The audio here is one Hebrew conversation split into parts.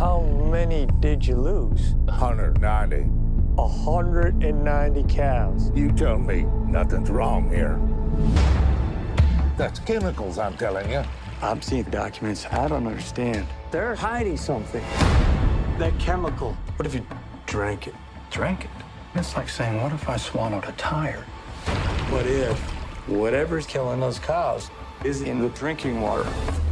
How many did you lose? 190. 190 cows. You tell me nothing's wrong here. That's chemicals, I'm telling you. I'm seeing documents I don't understand. They're hiding something. That chemical. What if you drank it? Drank it? It's like saying, what if I swallowed a tire? What if whatever's killing those cows is in the drinking water?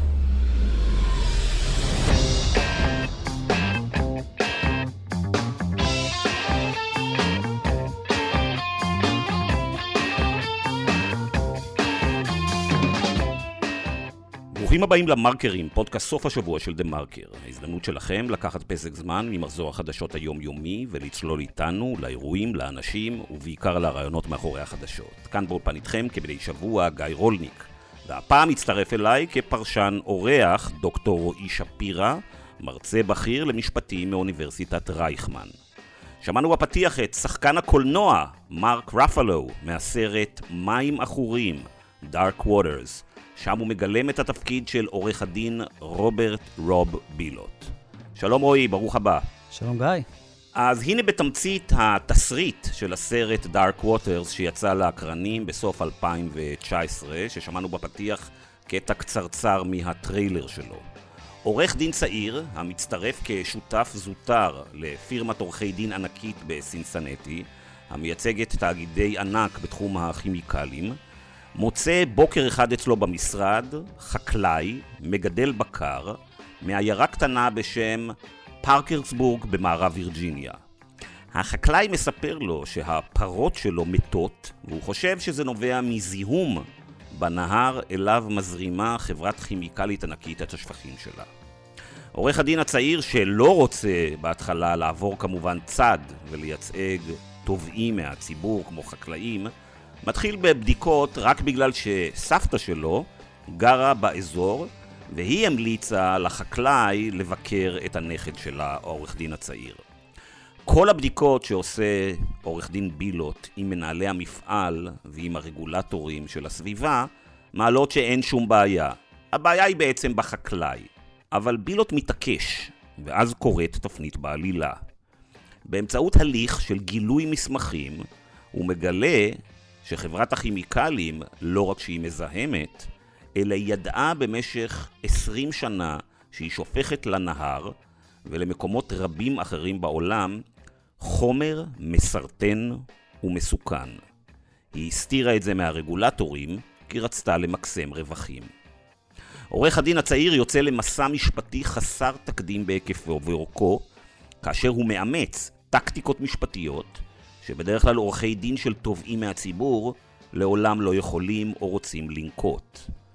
ברוכים הבאים למרקרים, פודקאסט סוף השבוע של דה מרקר. ההזדמנות שלכם לקחת פסק זמן ממחזור החדשות היומיומי ולצלול איתנו לאירועים, לאנשים ובעיקר לרעיונות מאחורי החדשות. כאן באולפן איתכם כבדי שבוע גיא רולניק. והפעם מצטרף אליי כפרשן אורח דוקטור רועי שפירא, מרצה בכיר למשפטים מאוניברסיטת רייכמן. שמענו בפתיח את שחקן הקולנוע מרק רפלו מהסרט מים עכורים, Dark Waters. שם הוא מגלם את התפקיד של עורך הדין רוברט רוב בילוט. שלום רועי, ברוך הבא. שלום גיא. אז הנה בתמצית התסריט של הסרט Dark Waters שיצא לאקרנים בסוף 2019, ששמענו בפתיח קטע קצרצר מהטריילר שלו. עורך דין צעיר, המצטרף כשותף זוטר לפירמת עורכי דין ענקית בסינסנטי, המייצגת תאגידי ענק בתחום הכימיקלים, מוצא בוקר אחד אצלו במשרד חקלאי, מגדל בקר, מעיירה קטנה בשם פארקרסבורג במערב וירג'יניה. החקלאי מספר לו שהפרות שלו מתות, והוא חושב שזה נובע מזיהום בנהר אליו מזרימה חברת כימיקלית ענקית את השפכים שלה. עורך הדין הצעיר שלא רוצה בהתחלה לעבור כמובן צד ולייצג תובעים מהציבור כמו חקלאים, מתחיל בבדיקות רק בגלל שסבתא שלו גרה באזור והיא המליצה לחקלאי לבקר את הנכד שלה, העורך דין הצעיר. כל הבדיקות שעושה עורך דין בילוט עם מנהלי המפעל ועם הרגולטורים של הסביבה מעלות שאין שום בעיה. הבעיה היא בעצם בחקלאי, אבל בילוט מתעקש ואז קורית תפנית בעלילה. באמצעות הליך של גילוי מסמכים הוא מגלה שחברת הכימיקלים לא רק שהיא מזהמת, אלא היא ידעה במשך 20 שנה שהיא שופכת לנהר ולמקומות רבים אחרים בעולם חומר מסרטן ומסוכן. היא הסתירה את זה מהרגולטורים כי רצתה למקסם רווחים. עורך הדין הצעיר יוצא למסע משפטי חסר תקדים בהיקפו ואורכו, כאשר הוא מאמץ טקטיקות משפטיות שבדרך כלל עורכי דין של תובעים מהציבור לעולם לא יכולים או רוצים לנקוט.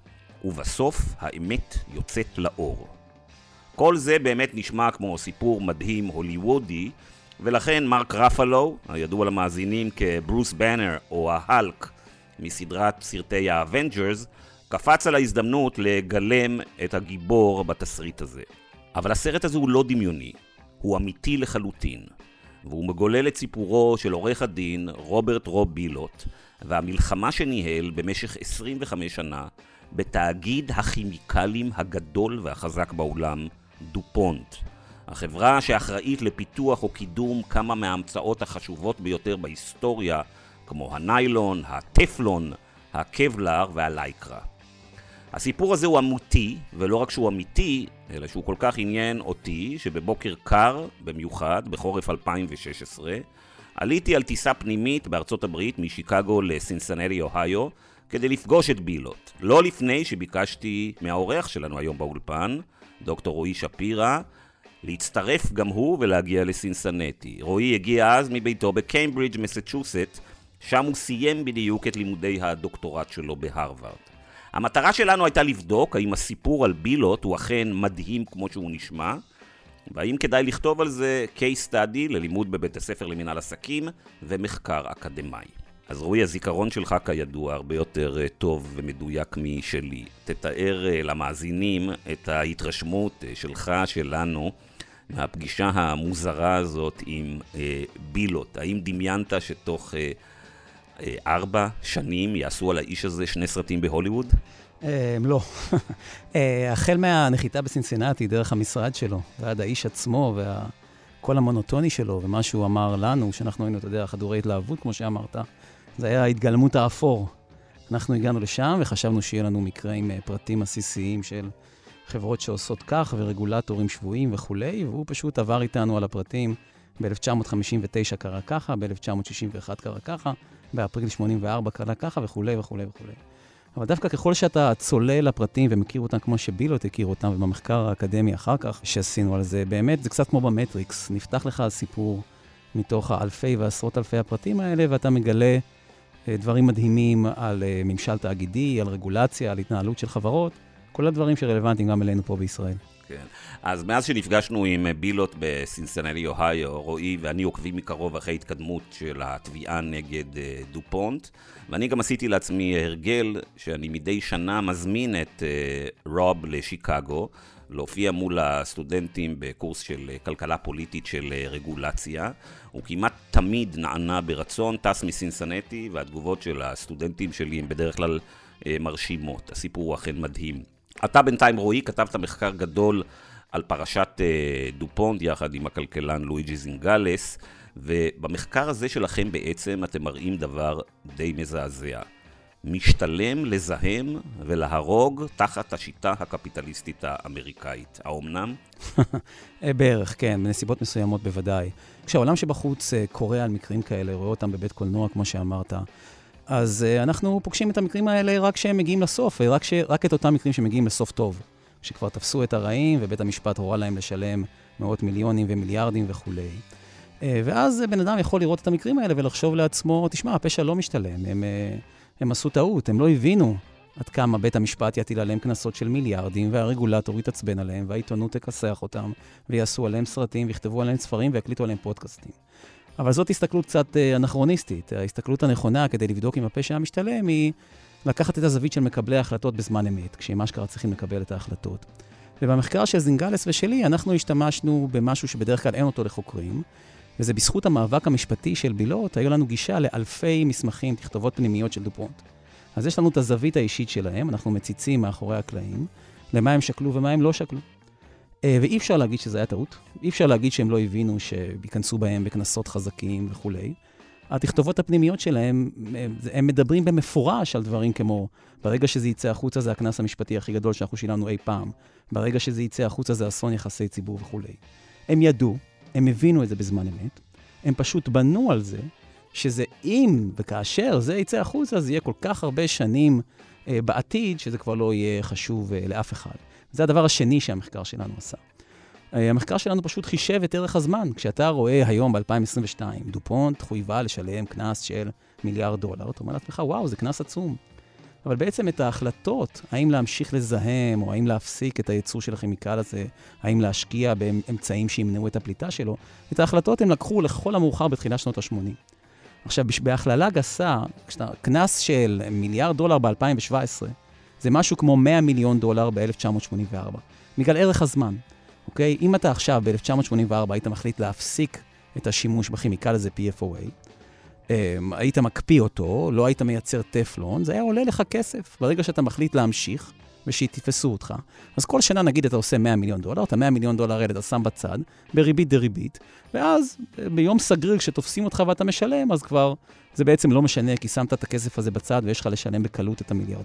ובסוף האמת יוצאת לאור. כל זה באמת נשמע כמו סיפור מדהים הוליוודי, ולכן מרק רפלו, הידוע למאזינים כברוס בנר או ההלק מסדרת סרטי האבנג'רס, קפץ על ההזדמנות לגלם את הגיבור בתסריט הזה. אבל הסרט הזה הוא לא דמיוני, הוא אמיתי לחלוטין. והוא מגולל את סיפורו של עורך הדין רוברט רוב בילוט והמלחמה שניהל במשך 25 שנה בתאגיד הכימיקלים הגדול והחזק בעולם, דופונט. החברה שאחראית לפיתוח או קידום כמה מההמצאות החשובות ביותר בהיסטוריה, כמו הניילון, הטפלון, הקבלר והלייקרה. הסיפור הזה הוא אמיתי, ולא רק שהוא אמיתי, אלא שהוא כל כך עניין אותי, שבבוקר קר, במיוחד, בחורף 2016, עליתי על טיסה פנימית בארצות הברית, משיקגו לסינסנטי, אוהיו, כדי לפגוש את בילוט. לא לפני שביקשתי מהאורח שלנו היום באולפן, דוקטור רועי שפירא, להצטרף גם הוא ולהגיע לסינסנטי. רועי הגיע אז מביתו בקיימברידג', מסצ'וסט, שם הוא סיים בדיוק את לימודי הדוקטורט שלו בהרווארד. המטרה שלנו הייתה לבדוק האם הסיפור על בילוט הוא אכן מדהים כמו שהוא נשמע, והאם כדאי לכתוב על זה case study ללימוד בבית הספר למנהל עסקים ומחקר אקדמי. אז רועי, הזיכרון שלך כידוע הרבה יותר טוב ומדויק משלי. תתאר למאזינים את ההתרשמות שלך, שלנו, מהפגישה המוזרה הזאת עם בילוט. האם דמיינת שתוך 4 שנים יעשו על האיש הזה 2 סרטים בהוליווד? לא. החל מהנחיתה בסינסינטי, דרך המשרד שלו, ועד האיש עצמו, וכל המונוטוני שלו, ומה שהוא אמר לנו, שאנחנו היינו, אתה יודע, חדורי התלהבות, כמו שאמרת, זה היה ההתגלמות האפור. אנחנו הגענו לשם, וחשבנו שיהיה לנו מקרה עם פרטים עסיסיים של חברות שעושות כך, ורגולטורים שבויים וכולי, והוא פשוט עבר איתנו על הפרטים. ב-1959 קרה ככה, ב-1961 קרה ככה, באפריל 84 קרה ככה, וכולי וכולי וכולי. אבל דווקא ככל שאתה צולל לפרטים ומכיר אותם כמו שבילוט הכיר אותם, ובמחקר האקדמי אחר כך שעשינו על זה, באמת זה קצת כמו במטריקס, נפתח לך סיפור מתוך האלפי ועשרות אלפי הפרטים האלה, ואתה מגלה דברים מדהימים על ממשל תאגידי, על רגולציה, על התנהלות של חברות, כל הדברים שרלוונטיים גם אלינו פה בישראל. כן. אז מאז שנפגשנו עם בילוט בסינסינטי, אוהיו, רועי ואני עוקבים מקרוב אחרי התקדמות של התביעה נגד דופונט, ואני גם עשיתי לעצמי הרגל שאני מדי שנה מזמין את רוב לשיקגו, להופיע מול הסטודנטים בקורס של כלכלה פוליטית של רגולציה. הוא כמעט תמיד נענה ברצון, טס מסינסינטי, והתגובות של הסטודנטים שלי הם בדרך כלל מרשימות. הסיפור הוא אכן מדהים. אתה בינתיים, רועי, כתבת מחקר גדול על פרשת דופונט יחד עם הכלכלן לואיג'י זינגלס, ובמחקר הזה שלכם בעצם אתם מראים דבר די מזעזע. משתלם לזהם ולהרוג תחת השיטה הקפיטליסטית האמריקאית. האומנם? בערך, כן, בנסיבות מסוימות בוודאי. כשהעולם שבחוץ קורא על מקרים כאלה, רואה אותם בבית קולנוע, כמו שאמרת, אז אנחנו פוגשים את המקרים האלה רק שהם מגיעים לסוף, רק את אותם מקרים שמגיעים לסוף טוב, שכבר תפסו את הרעים ובית המשפט הורה להם לשלם מאות מיליונים ומיליארדים וכו'. ואז בן אדם יכול לראות את המקרים האלה ולחשוב לעצמו, תשמע, הפשע לא משתלם, הם עשו טעות, הם לא הבינו עד כמה בית המשפט יטיל עליהם כנסות של מיליארדים, והרגולטור יתעצבן עליהם, והעיתונות תכסח אותם, ויעשו עליהם סרטים, ויכתבו עליהם ספרים, ויקליטו עליהם פודקאסטים. אבל זאת הסתכלות קצת אנכרוניסטית. ההסתכלות הנכונה כדי לבדוק אם הפשע המשתלם היא לקחת את הזווית של מקבלי ההחלטות בזמן אמת, כשהם אשכרה צריכים לקבל את ההחלטות. ובמחקר של זינגלס ושלי, אנחנו השתמשנו במשהו שבדרך כלל אין אותו לחוקרים, וזה בזכות המאבק המשפטי של בילוט, היו לנו גישה לאלפי מסמכים, תכתובות פנימיות של דופונט. אז יש לנו את הזווית האישית שלהם, אנחנו מציצים מאחורי הקלעים, למה הם שקלו ומה הם לא שקלו. ואי אפשר להגיד שזה היה טעות, אי אפשר להגיד שהם לא הבינו שיכנסו בהם בכנסות חזקים וכו'. התכתובות הפנימיות שלהם, הם מדברים במפורש על דברים כמו, ברגע שזה יצא החוצה זה הכנס המשפטי הכי גדול שאנחנו שילמנו אי פעם, ברגע שזה יצא החוצה זה אסון יחסי ציבור וכו'. הם ידעו, הם הבינו את זה בזמן אמת, הם פשוט בנו על זה, שזה אם וכאשר זה יצא החוצה, זה יהיה כל כך הרבה שנים בעתיד, שזה כבר לא יהיה חשוב לאף אחד. זה הדבר השני שהמחקר שלנו עשה. המחקר שלנו פשוט חישב את ערך הזמן. כשאתה רואה היום ב-2022, דופונט חויבה לשלם כנס של $1 מיליארד, אתה אומר לעצמך, וואו, זה כנס עצום. אבל בעצם את ההחלטות, האם להמשיך לזהם, או האם להפסיק את הייצור של הכימיקל הזה, האם להשקיע באמצעים שימנעו את הפליטה שלו, את ההחלטות הם לקחו לכל המאוחר בתחילת שנות ה-80. עכשיו, בהכללה גסה, כנס של $1 מיליארד ב-2017, זה משהו כמו $100 מיליון ב-1984, בגלל ערך הזמן. אוקיי? אם אתה עכשיו ב-1984 היית מחליט להפסיק את השימוש בכימיקל הזה PFOA, היית מקפיא אותו, לא היית מייצר טפלון, זה היה עולה לך כסף. ברגע שאתה מחליט להמשיך ושיתפסו אותך, אז כל שנה נגיד אתה עושה $100 מיליון, את $100 מיליון האלה אתה שם בצד, בריבית דריבית, ואז ביום סגריר כשתופסים אותך ואתה משלם, אז כבר זה בעצם לא משנה, כי שמת את הכסף הזה בצד ויש לך לשלם בקלות את $1 מיליארד.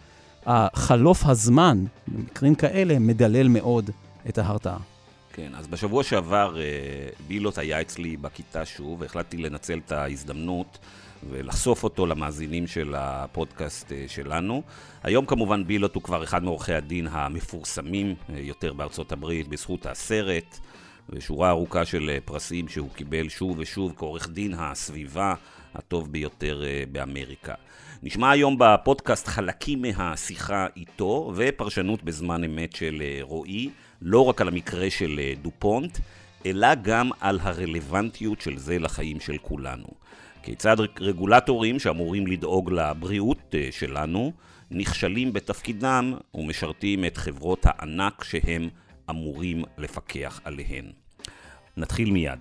החלוף הזמן, במקרים כאלה, מדלל מאוד את ההרתעה. כן, אז בשבוע שעבר בילוט היה אצלי בכיתה שוב, והחלטתי לנצל את ההזדמנות ולחשוף אותו למאזינים של הפודקאסט שלנו. היום כמובן בילוט הוא כבר אחד מעורכי הדין המפורסמים יותר בארצות הברית, בזכות הסרט, ושורה ארוכה של פרסים שהוא קיבל שוב ושוב כעורך דין הסביבה הטוב ביותר באמריקה. נשמע היום בפודקאסט חלקים מהשיחה איתו, ופרשנות בזמן אמת של רועי, לא רק על המקרה של דופונט, אלא גם על הרלוונטיות של זה לחיים של כולנו. כיצד רגולטורים שאמורים לדאוג לבריאות שלנו, נכשלים בתפקידם ומשרתים את חברות הענק שהם אמורים לפקח עליהן. נתחיל מיד.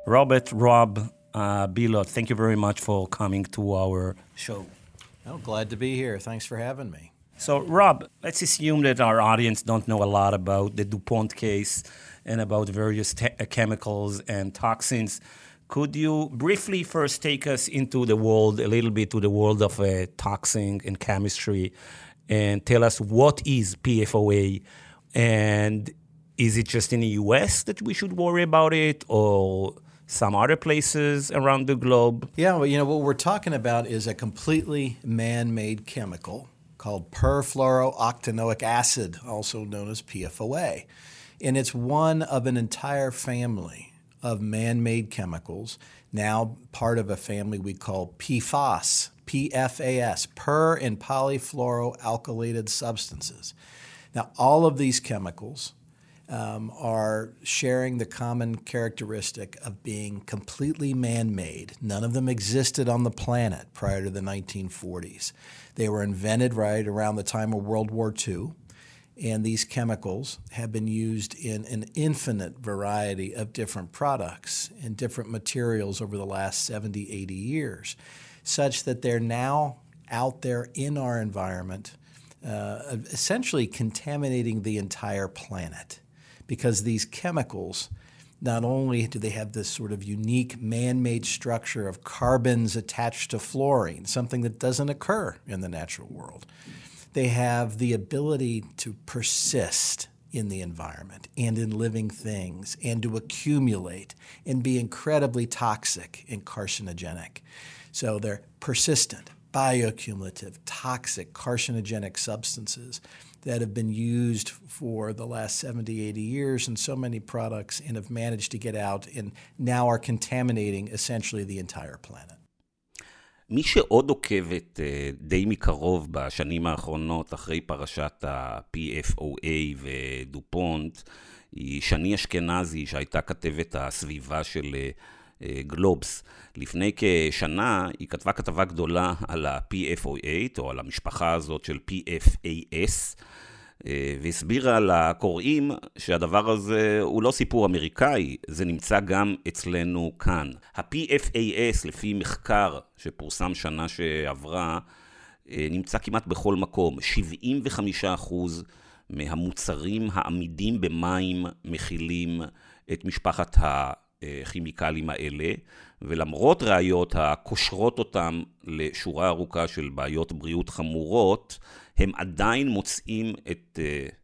Robert, Rob, Bilot, thank you very much for coming to our show. Oh, glad to be here. Thanks for having me. So, Rob, let's assume that our audience don't know a lot about the DuPont case and about various chemicals and toxins. Could you briefly first take us into the world, a little bit to the world of toxin and chemistry, and tell us what is PFOA, and is it just in the US that we should worry about it, or some other places around the globe? Yeah, well, what we're talking about is a completely man-made chemical called perfluorooctanoic acid, also known as PFOA. And it's one of an entire family of man-made chemicals, now part of a family we call PFAS, PFAS, per and polyfluoroalkylated substances. Now, all of these chemicals are sharing the common characteristic of being completely man-made. None of them existed on the planet prior to the 1940s. They were invented right around the time of World War II, and these chemicals have been used in an infinite variety of different products and different materials over the last 70, 80 years, such that they're now out there in our environment, essentially contaminating the entire planet. Because these chemicals, not only do they have this sort of unique man-made structure of carbons attached to fluorine, something that doesn't occur in the natural world, they have the ability to persist in the environment and in living things and to accumulate and be incredibly toxic and carcinogenic. So they're persistent, bioaccumulative, toxic, carcinogenic substances that have been used for the last 70, 80 years in so many products and have managed to get out and now are contaminating essentially the entire planet. מי שעוד עוקבת די מקרוב בשנים האחרונות אחרי פרשת ה-PFOA ודופונט, היא שני אשכנזי שהייתה כתבת הסביבה של גלובס. לפני כשנה היא כתבה כתבה גדולה על ה-PFOA, או על המשפחה הזאת של PFAS, והסבירה לקוראים שהדבר הזה הוא לא סיפור אמריקאי, זה נמצא גם אצלנו כאן. ה-PFAS, לפי מחקר שפורסם שנה שעברה, נמצא כמעט בכל מקום. 75% מהמוצרים העמידים במים מכילים את משפחת הכימיקלים האלה, ולמרות ראיות הקושרות אותם לשורה ארוכה של בעיות בריאות חמורות, הם עדיין מוצאים את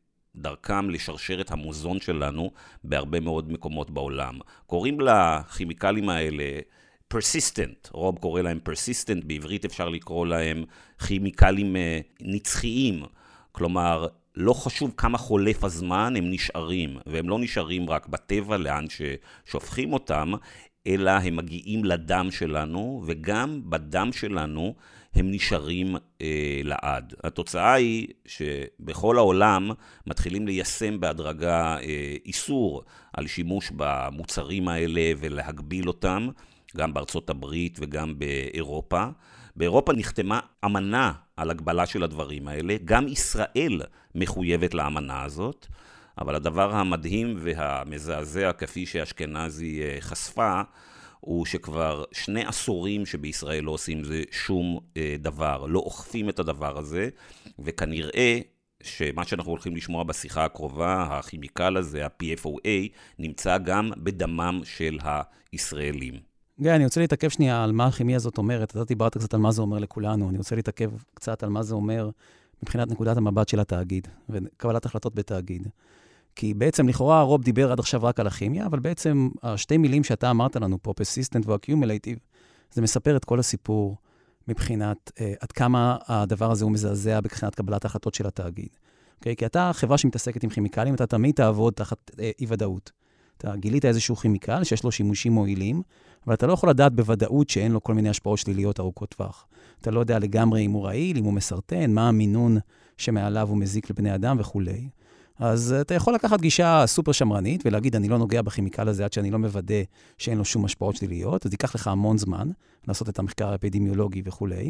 דרכם לשרשרת המוזון שלנו בהרבה מאוד מקומות בעולם. קוראים לכימיקלים האלה persistent, רוב קורא להם persistent, בעברית אפשר לקרוא להם כימיקלים נצחיים, כלומר לא חשוב כמה חולף הזמן, הם נשארים, והם לא נשארים רק בטבע לאן ששופכים אותם, אלא הם מגיעים לדם שלנו, וגם בדם שלנו הם נשארים לעד. התוצאה היא שבכל העולם מתחילים ליישם בהדרגה איסור על שימוש במוצרים האלה ולהגביל אותם, גם בארצות הברית וגם באירופה. באירופה נחתמה אמנה על הגבלה של הדברים האלה, גם ישראל מחויבת לאמנה הזאת, אבל הדבר המדהים והמזעזע כפי שאשכנזי חשפה, הוא שכבר 2 עשורים שבישראל לא עושים זה שום דבר, לא אוכפים את הדבר הזה, וכנראה שמה שאנחנו הולכים לשמוע בשיחה הקרובה, הכימיקל הזה, ה-PFOA, נמצא גם בדמם של הישראלים. גיא, אני רוצה להתעכב שנייה על מה הכימיה הזאת אומרת. אתה דיברת קצת על מה זה אומר לכולנו. אני רוצה להתעכב קצת על מה זה אומר מבחינת נקודת המבט של התאגיד, וקבלת החלטות בתאגיד. כי בעצם לכאורה רוב דיבר עד עכשיו רק על הכימיה, אבל בעצם השתי מילים שאתה אמרת לנו פה, persistent ו-accumulative, זה מספר את כל הסיפור מבחינת עד כמה הדבר הזה הוא מזעזע מבחינת קבלת ההחלטות של התאגיד. Okay? כי אתה חברה שמתעסקת עם כימיקלים, אתה תמיד תעבוד תחת אי-ודאות. אתה גילית איזשהו כימיקל שיש לו שימושים מועילים, אבל אתה לא יכול לדעת בוודאות שאין לו כל מיני השפעות שליליות ארוכות טווח. אתה לא יודע לגמרי אם הוא רעיל, אם הוא מסרטן, מה המינון שמעליו הוא מזיק לבני אדם וכו'. אז אתה יכול לקחת גישה סופר שמרנית ולהגיד, אני לא נוגע בכימיקל הזה עד שאני לא מוודא שאין לו שום השפעות שליליות, אז ייקח לך המון זמן לעשות את המחקר האפידמיולוגי וכו'.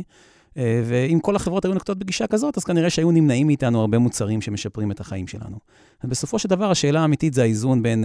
ואם כל החברות היו נקטות בגישה כזאת, אז כנראה שהיו נמנעים מאיתנו הרבה מוצרים שמשפרים את החיים שלנו. אז בסופו של דבר, השאלה האמיתית זה האיזון בין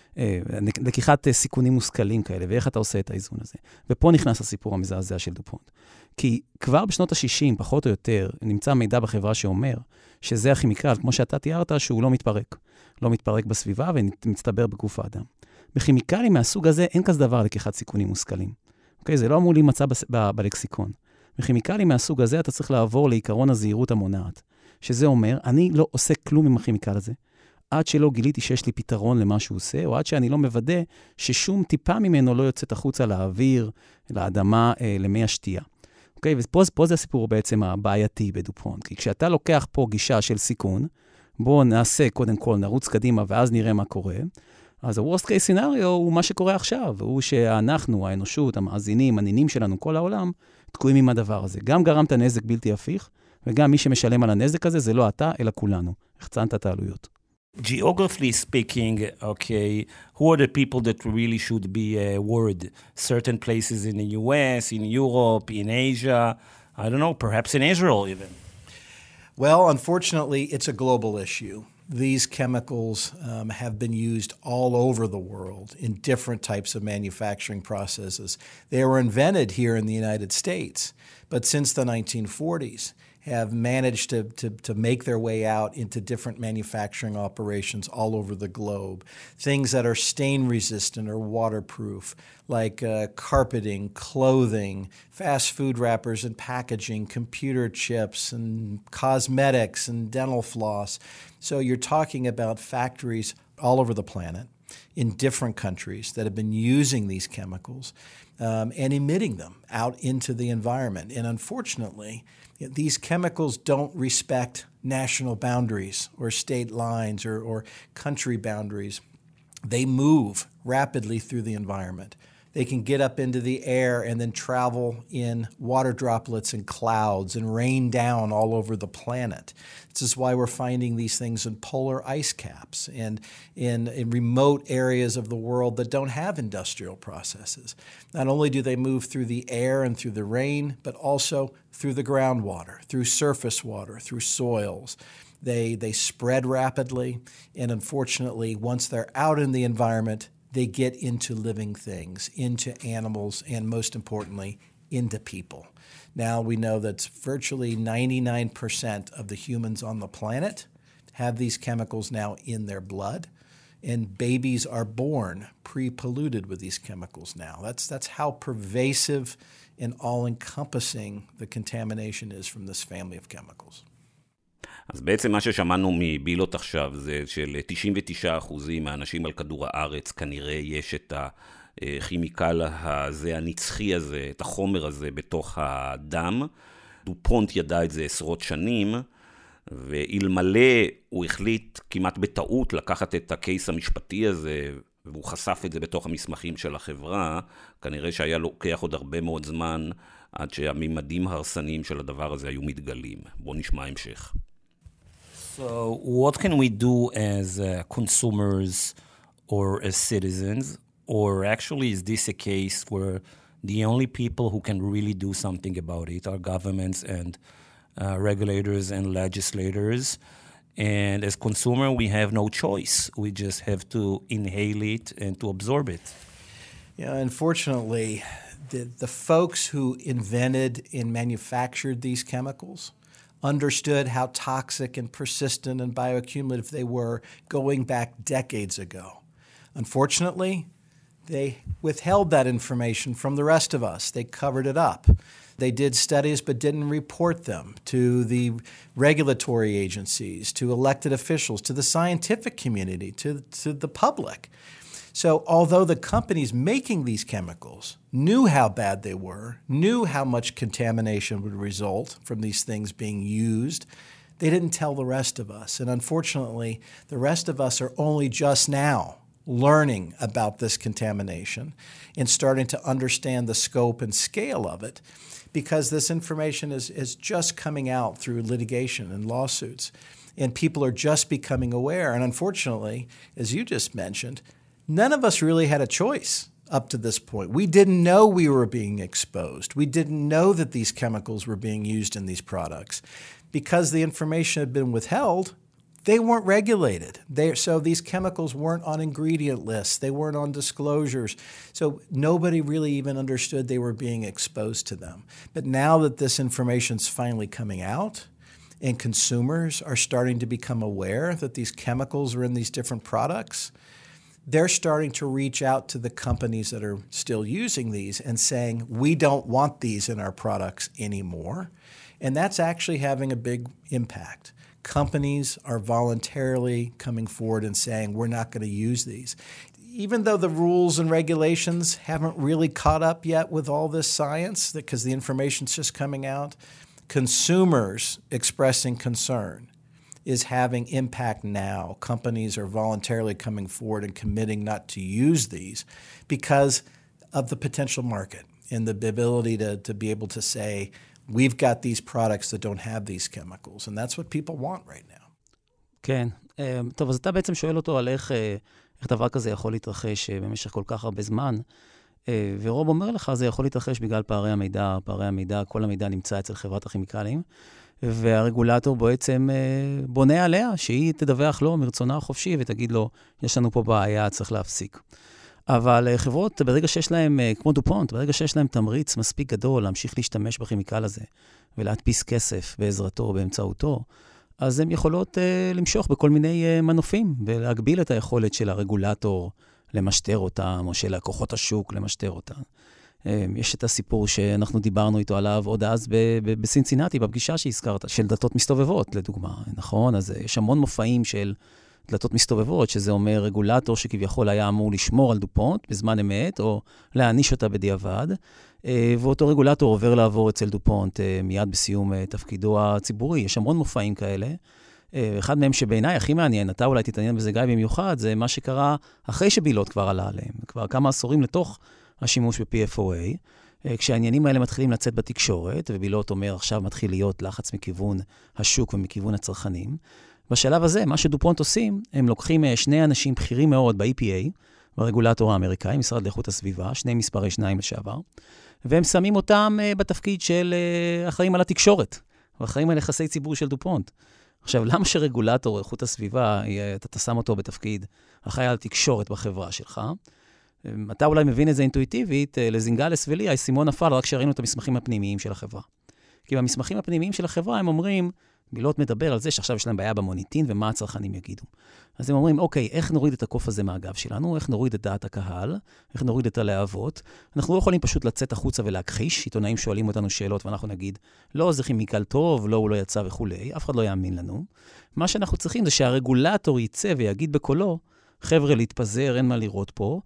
לקיחת סיכונים מושכלים כאלה, ואיך אתה עושה את האיזון הזה. ופה נכנס הסיפור המזעזע של דופונט. כי כבר בשנות ה-60, פחות או יותר, נמצא מידע בחברה שאומר שזה הכימיקל, כמו שאתה תיארת, שהוא לא מתפרק. לא מתפרק בסביבה ומצטבר בגוף האדם. בכימיקלים מהסוג הזה אין כזה דבר לקיחת סיכונים מושכלים. אוקיי? זה לא אמור להימצא בלקסיקון. בכימיקלים מהסוג הזה אתה צריך לעבור לעיקרון הזהירות המונעת, שזה אומר, אני לא עושה כלום עם הכימיקל הזה, עד שלא גיליתי שיש לי פתרון למה שהוא עושה, או עד שאני לא מוודא ששום טיפה ממנו לא יוצאת החוצה לאוויר, לאדמה, למי השתייה. אוקיי? ופה זה הסיפור בעצם הבעייתי בדופונט, כי כשאתה לוקח פה גישה של סיכון, בואו נעשה קודם כל, נרוץ קדימה ואז נראה מה קורה, אז ה-Worst case scenario הוא מה שקורה עכשיו, הוא שאנחנו, האנושות, המאזינים, הנינים שלנו, כל העולם, תקועים עם הדבר הזה. גם גרמת נזק בלתי הפיך, וגם מי שמשלם על הנזק הזה זה לא אתה, אלא כולנו. החצנת את העלויות. Geographically speaking, okay, who are the people that really should be worried? Certain places in the US, in Europe, in Asia, I don't know, perhaps in Israel even. Well, unfortunately, it's a global issue. These chemicals have been used all over the world in different types of manufacturing processes. They were invented here in the United States, but since the 1940s, have managed to make their way out into different manufacturing operations all over the globe. Things that are stain resistant or waterproof, like carpeting, clothing, fast food wrappers and packaging, computer chips and cosmetics and dental floss. So you're talking about factories all over the planet in different countries that have been using these chemicals and emitting them out into the environment. And unfortunately, these chemicals don't respect national boundaries or state lines or country boundaries. They move rapidly through the environment. They can get up into the air and then travel in water droplets and clouds and rain down all over the planet. This is why we're finding these things in polar ice caps and in remote areas of the world that don't have industrial processes. Not only do they move through the air and through the rain, but also through the groundwater, through surface water, through soils. They spread rapidly, and unfortunately, once they're out in the environment, they get into living things, into animals, and most importantly, into people. Now we know that virtually 99% of the humans on the planet have these chemicals now in their blood, and babies are born pre-polluted with these chemicals now. That's how pervasive and all-encompassing the contamination is from this family of chemicals. אז בעצם מה ששמענו מבילות עכשיו זה של 99% מהאנשים על כדור הארץ כנראה יש את הכימיקל הזה, הנצחי הזה, את החומר הזה בתוך הדם. דופונט ידע את זה עשרות שנים, ואלמלא הוא החליט כמעט בטעות לקחת את הקייס המשפטי הזה, והוא חשף את זה בתוך המסמכים של החברה, כנראה שהיה לוקח עוד הרבה מאוד זמן עד שהממדים ההרסניים של הדבר הזה היו מתגלים. בואו נשמע המשך. So what can we do as consumers or as citizens? Or actually is this a case where the only people who can really do something about it are governments and regulators and legislators? And as consumer, we have no choice. We just have to inhale it and to absorb it. Yeah, unfortunately, the folks who invented and manufactured these chemicals understood how toxic and persistent and bioaccumulative they were going back decades ago. Unfortunately, they withheld that information from the rest of us. They covered it up. They did studies but didn't report them to the regulatory agencies, to elected officials, to the scientific community, to the public. So although the companies making these chemicals knew how bad they were, knew how much contamination would result from these things being used, they didn't tell the rest of us. And unfortunately, the rest of us are only just now learning about this contamination and starting to understand the scope and scale of it, because this information is just coming out through litigation and lawsuits. And people are just becoming aware. And unfortunately, as you just mentioned, none of us really had a choice up to this point. We didn't know we were being exposed. We didn't know that these chemicals were being used in these products. Because the information had been withheld, they weren't regulated. So these chemicals weren't on ingredient lists. They weren't on disclosures. So nobody really even understood they were being exposed to them. But now that this information's finally coming out, and consumers are starting to become aware that these chemicals are in these different products, they're starting to reach out to the companies that are still using these and saying, we don't want these in our products anymore. And that's actually having a big impact. Companies are voluntarily coming forward and saying, we're not going to use these. Even though the rules and regulations haven't really caught up yet with all this science, because the information's just coming out, consumers expressing concern is having impact now. Companies are voluntarily coming forward and committing not to use these because of the potential market and the ability to be able to say, we've got these products that don't have these chemicals, and that's what people want right now. כן. טוב, אז אתה בעצם שואל אותו על איך דבר כזה יכול להתרחש במשך כל כך הרבה זמן, ורוב אומר לך, זה יכול להתרחש בגלל פערי המידע, כל המידע נמצא אצל חברת הכימיקלים, והרגולטור בעצם בונה עליה, שהיא תדווח לו מרצונה החופשי, ותגיד לו, יש לנו פה בעיה, צריך להפסיק. אבל חברות, ברגע שיש להם, כמו דופונט, ברגע שיש להם תמריץ מספיק גדול להמשיך להשתמש בכימיקל הזה, ולהדפיס כסף בעזרתו, באמצעותו, אז הן יכולות למשוך בכל מיני מנופים, ולהגביל את היכולת של הרגולטור למשטר אותם, או של לקוחות השוק למשטר אותם. יש את הסיפור שאנחנו דיברנו איתו עליו עוד אז בסינסינטי, בפגישה שהזכרת, של דלתות מסתובבות, לדוגמה, נכון? אז יש המון מופעים של דלתות מסתובבות, שזה אומר רגולטור שכביכול היה אמור לשמור על דופונט בזמן אמת, או להעניש אותה בדיעבד, ואותו רגולטור עובר לעבור אצל דופונט מיד בסיום תפקידו הציבורי. יש המון מופעים כאלה. אחד מהם שבעיניי הכי מעניין, אתה אולי תתעניין בזה גיא במיוחד, זה מה שקרה אחרי שבילות כבר עלה עליהם, כבר כמה עשורים לתוך השימוש ב-PFOA, כשהעניינים האלה מתחילים לצאת בתקשורת, ובילות אומר עכשיו מתחיל להיות לחץ מכיוון השוק ומכיוון הצרכנים. בשלב הזה, מה שדופונט עושים, הם לוקחים שני אנשים בכירים מאוד ב-EPA, ברגולטור האמריקאי, משרד לאיכות הסביבה, שני מספרי שניים לשעבר, והם שמים אותם בתפקיד של אחראים על התקשורת, ואחראים על יחסי ציבור של דופונט. עכשיו, למה שרגולטור איכות הסביבה, אתה שם אותו בתפקיד אחראי על התקשורת בחברה שלך? אתה אולי מבין את זה אינטואיטיבית, לזינגלס ולי, האסימון נפל רק שראינו את המסמכים הפנימיים של החברה. כי במסמכים הפנימיים של החברה הם אומרים, בילות מדבר על זה שעכשיו יש להם בעיה במוניטין ומה הצרכנים יגידו. אז הם אומרים, אוקיי, איך נוריד את הקוף הזה מהגב שלנו? איך נוריד את דעת הקהל? איך נוריד את הלהבות? אנחנו לא יכולים פשוט לצאת החוצה ולהכחיש. עיתונאים שואלים אותנו שאלות ואנחנו נגיד, לא, זה כימיקל טוב, לא, הוא לא יצא וכולי. אף אחד לא יאמין לנו. מה שאנחנו צריכים זה שהרגולטור יצא ויגיד בקולו, חבר'ה, להתפזר, אין מה לראות פה.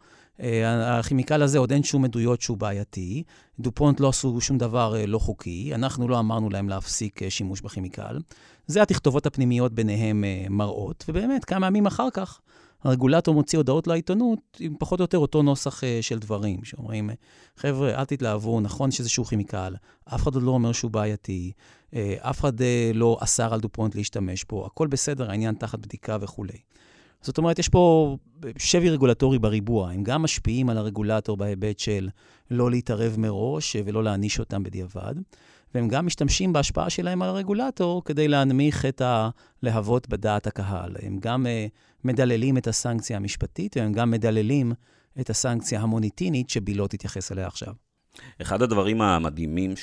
הכימיקל הזה עוד אין שום עדויות שהוא בעייתי, דופונט לא עשו שום דבר לא חוקי, אנחנו לא אמרנו להם להפסיק שימוש בכימיקל. זה התכתובות הפנימיות ביניהם מראות, ובאמת כמה ימים אחר כך הרגולטור מוציא הודעות לעיתונות עם פחות או יותר אותו נוסח של דברים, שאומרים, חבר'ה, אל תתלהבו, נכון שאיזשהו כימיקל, אף אחד עוד לא אומר שהוא בעייתי, אף אחד לא אסר על דופונט להשתמש פה, הכל בסדר, העניין תחת בדיקה וכולי. זאת אומרת, יש פה שבי רגולטורי בריבוע, הם גם משפיעים על הרגולטור בהיבט של לא להתערב מראש ולא להעניש אותם בדיעבד, והם גם משתמשים בהשפעה שלהם על הרגולטור כדי להנמיך את הלהבות בדעת הקהל. הם גם מדללים את הסנקציה המשפטית, והם גם מדללים את הסנקציה המוניטינית שבילות תתייחס אליה עכשיו. אחד הדברים המדהימים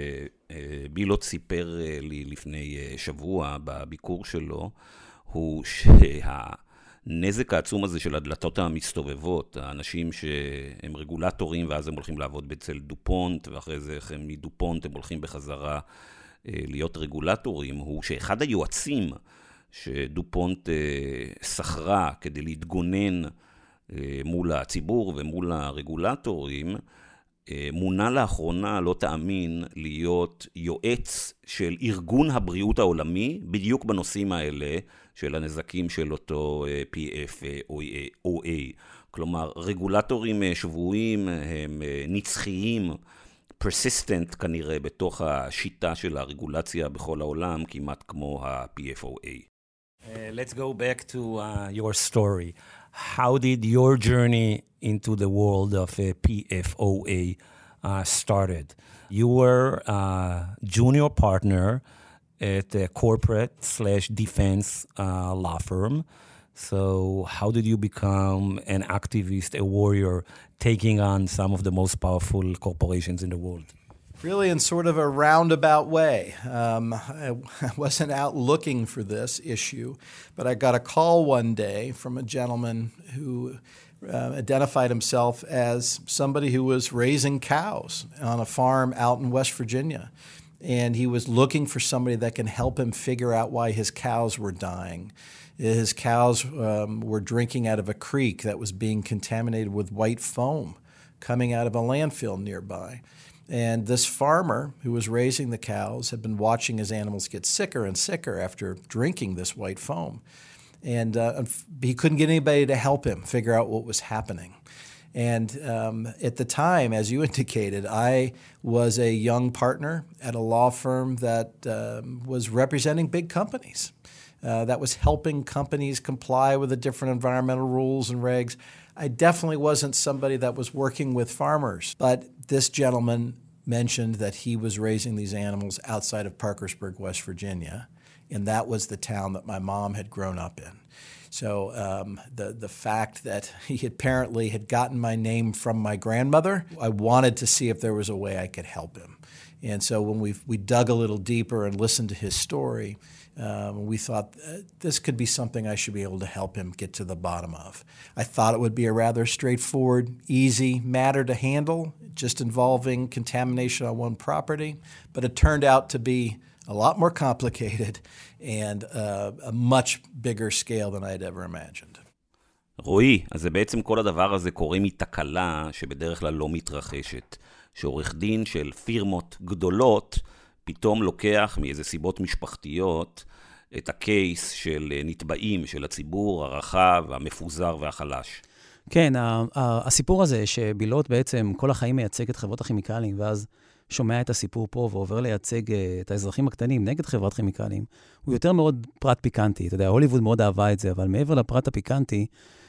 שבילות סיפר לי לפני שבוע בביקור שלו, הוא הנזק העצום הזה של הדלתות המסתובבות, האנשים שהם רגולטורים ואז הם הולכים לעבוד אצל דופונט, ואחרי זה הם מדופונט הם הולכים בחזרה להיות רגולטורים, הוא שאחד היועצים שדופונט שכרה כדי להתגונן מול הציבור ומול הרגולטורים, מונה לאחרונה, לא תאמין, להיות יועץ של ארגון הבריאות העולמי, בדיוק בנושאים האלה של הנזקים של אותו PFOA. כלומר, רגולטורים שבויים הם נצחיים, persistent כנראה, בתוך השיטה של הרגולציה בכל העולם, כמעט כמו ה-PFOA. Let's go back to your story. how did your journey into the world of PFOA started? You were a junior partner at a corporate/defense law firm. So how did you become an activist, a warrior, taking on some of the most powerful corporations in the world? Really in sort of a roundabout way. I wasn't out looking for this issue, but I got a call one day from a gentleman who identified himself as somebody who was raising cows on a farm out in West Virginia. And he was looking for somebody that can help him figure out why his cows were dying. His cows were drinking out of a creek that was being contaminated with white foam coming out of a landfill nearby. And this farmer who was raising the cows had been watching his animals get sicker and sicker after drinking this white foam. And he couldn't get anybody to help him figure out what was happening. And at the time, as you indicated, I was a young partner at a law firm that was representing big companies, that was helping companies comply with the different environmental rules and regs. I definitely wasn't somebody that was working with farmers, but this gentleman mentioned that he was raising these animals outside of Parkersburg, West Virginia, and that was the town that my mom had grown up in. So the fact that he apparently had gotten my name from my grandmother, I wanted to see if there was a way I could help him. And so when we dug a little deeper and listened to his story, we thought this could be something I should be able to help him get to the bottom of. I thought it would be a rather straightforward, easy matter to handle, just involving contamination on one property, but it turned out to be a lot more complicated and a much bigger scale than I'd ever imagined. רועי, אז זה בעצם כל הדבר הזה קורה מתקלה שבדרך כלל לא מתרחשת. שעורך דין של פירמות גדולות פתאום לוקח מאיזה סיבות משפחתיות את הקייס של נתבעים, של הציבור הרחב, המפוזר והחלש. כן, הסיפור הזה שבילוט בעצם כל החיים מייצג את חברות הכימיקלים, ואז שומע את הסיפור פה ועובר לייצג את האזרחים הקטנים נגד חברת כימיקלים, הוא יותר מאוד פרט פיקנטי. אתה יודע, הוליווד מאוד אהבה את זה, אבל מעבר לפרט הפיקנטי,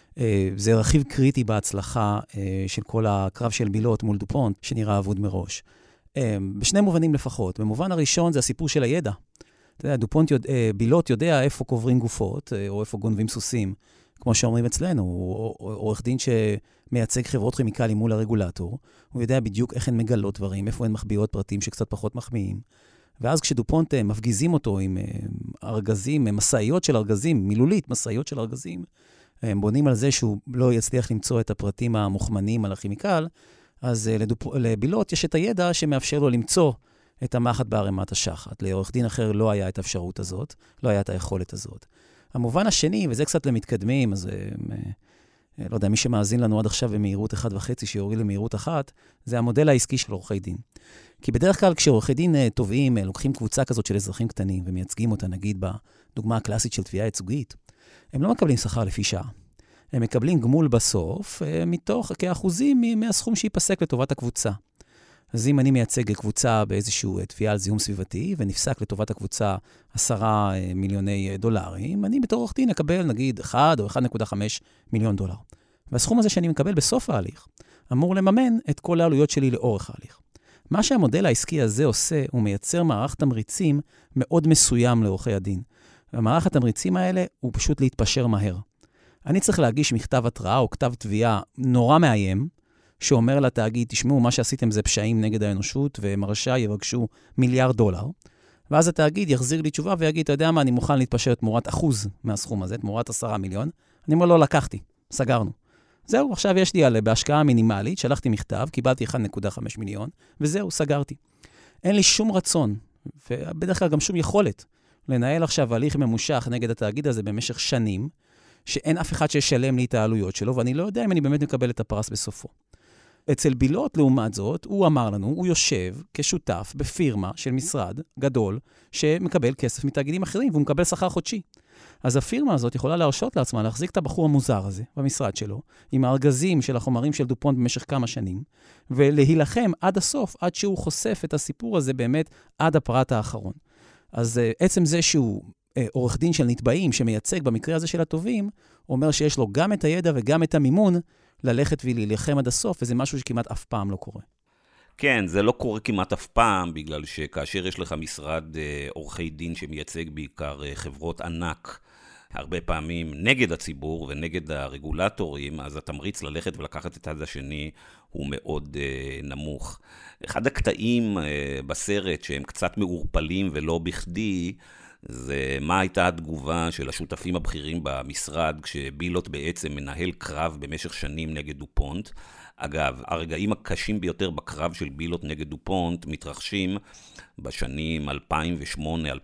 זה רכיב קריטי בהצלחה של כל הקרב של בילוט מול דופונט, שנראה אבוד מראש. בשני מובנים לפחות. במובן הראשון זה הסיפור של הידע. אתה יודע, בילוט יודע איפה קוברים גופות, או איפה גונבים סוסים, כמו שאומרים אצלנו. הוא עורך דין שמייצג חברות כימיקלים מול הרגולטור. הוא יודע בדיוק איך הן מגלות דברים, איפה הן מחביאות פרטים שקצת פחות מחמיאים. ואז כשדופונט מפגיזים אותו עם ארגזים, מסעיות של ארגזים, מילולית מסעיות של ארגזים, הם בונים על זה שהוא לא יצליח למצוא את הפרטים המוחמנים על הכימיקל, אז לבילוט יש את הידע שמאפשר לו למצוא את המחט בערימת השחת. לעורך דין אחר לא היה את האפשרות הזאת, לא היה את היכולת הזאת. המובן השני, וזה קצת למתקדמים, אז לא יודע, מי שמאזין לנו עד עכשיו במהירות 1.5, שיוריד למהירות 1, זה המודל העסקי של עורכי דין. כי בדרך כלל כשעורכי דין טובים, לוקחים קבוצה כזאת של אזרחים קטנים, ומייצגים אותה, נגיד, בדוגמה הקלאסית של תביעה ייצוגית, הם לא מקבלים שכר לפי שעה. הם מקבלים גמול בסוף, מתוך כאחוזים מהסכום שיפסק לטובת הקבוצה. אז אם אני מייצג קבוצה באיזשהו תביעה על זיהום סביבתי, ונפסק לטובת הקבוצה 10 מיליוני דולרים, אני בתור עורך דין אקבל נגיד 1 או 1.5 מיליון דולר. והסכום הזה שאני מקבל בסוף ההליך, אמור לממן את כל העלויות שלי לאורך ההליך. מה שהמודל העסקי הזה עושה, הוא מייצר מערך תמריצים מאוד מסוים לעורכי הדין. והמערך התמריצים האלה הוא פשוט להתפשר מהר. אני צריך להגיש מכתב התראה או כתב תביעה נורא מאיים, שאומר לתאגיד, תשמעו, מה שעשיתם זה פשעים נגד האנושות, ומרשע יבקשו $1 מיליארד. ואז התאגיד יחזיר לי תשובה ויגיד, אתה יודע מה, אני מוכן להתפשר תמורת 1% מהסכום הזה, תמורת 10 מיליון. אני אומר, לא לקחתי, סגרנו. זהו, עכשיו יש לי בהשקעה מינימלית, שלחתי מכתב, קיבלתי 1.5 מיליון, וזהו, סגרתי. אין לי שום רצון, ובדרך כלל גם שום יכולת, לנהל עכשיו הליך ממושך נגד התאגיד הזה במשך שנים, שאין אף אחד שישלם לי את העלויות שלו, ואני לא יודע אם אני באמת מקבל את הפרס בסופו. אצל בילוט, לעומת זאת, הוא אמר לנו, הוא יושב כשותף בפירמה של משרד גדול, שמקבל כסף מתאגידים אחרים, והוא מקבל שכר חודשי. אז הפירמה הזאת יכולה להרשות לעצמה להחזיק את הבחור המוזר הזה במשרד שלו, עם הארגזים של החומרים של דופונט במשך כמה שנים, ולהילחם עד הסוף, עד שהוא חושף את הסיפור הזה באמת עד הפרט האחרון. אז עצם זה שהוא עורך דין של נתבעים שמייצג במקרה הזה של הטובים, אומר שיש לו גם את הידע וגם את המימון ללכת ולהילחם עד הסוף, וזה משהו שכמעט אף פעם לא קורה. כן, זה לא קורה כמעט אף פעם, בגלל שכאשר יש לך משרד עורכי דין שמייצג בעיקר חברות ענק, הרבה פעמים נגד הציבור ונגד הרגולטורים, אז התמריץ ללכת ולקחת את הצד השני הוא מאוד נמוך. אחד הקטעים בסרט שהם קצת מעורפלים ולא בכדי, זה מה הייתה התגובה של השותפים הבכירים במשרד, כשבילוט בעצם מנהל קרב במשך שנים נגד דופונט. אגב, הרגעים הקשים ביותר בקרב של בילוט נגד דופונט מתרחשים בשנים 2008-2012,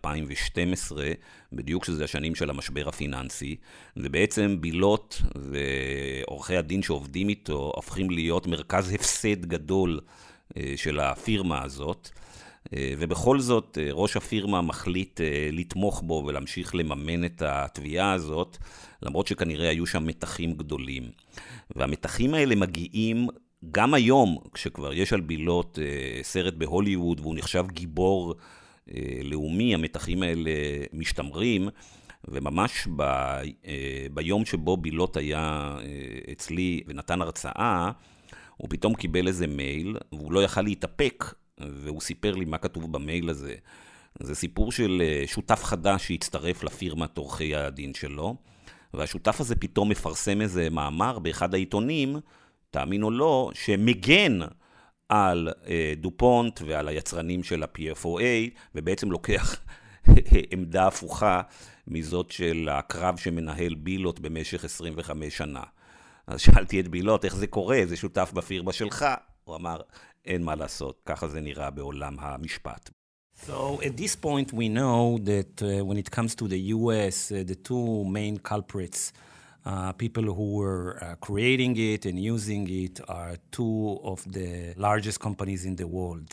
בדיוק שזה השנים של המשבר הפיננסי, ובעצם בילוט ועורכי הדין שעובדים איתו הופכים להיות מרכז הפסד גדול של הפירמה הזאת, ובכל זאת ראש הפירמה מחליט לתמוך בו ולהמשיך לממן את התביעה הזאת, למרות שכנראה היו שם מתחים גדולים. והמתחים האלה מגיעים גם היום, כשכבר יש על בילוט סרט בהוליווד והוא נחשב גיבור לאומי, המתחים האלה משתמרים, וממש ביום שבו בילוט היה אצלי ונתן הרצאה, הוא פתאום קיבל איזה מייל, והוא לא יכל להתאפק, והוא סיפר לי מה כתוב במייל הזה. זה סיפור של שותף חדש שהצטרף לפירמת עורכי הדין שלו, והשותף הזה פתאום מפרסם איזה מאמר באחד העיתונים, תאמין או לא, שמגן על דופונט ועל היצרנים של ה-PFOA, ובעצם לוקח עמדה הפוכה מזאת של הקרב שמנהל בילוט במשך 25 שנה. אז שאלתי את בילוט, איך זה קורה? זה שותף בפירמה שלך? הוא אמר, אין מה לעשות, ככה זה נראה בעולם המשפט. So at this point we know that when it comes to the US, the two main culprits, people who were creating it and using it are two of the largest companies in the world,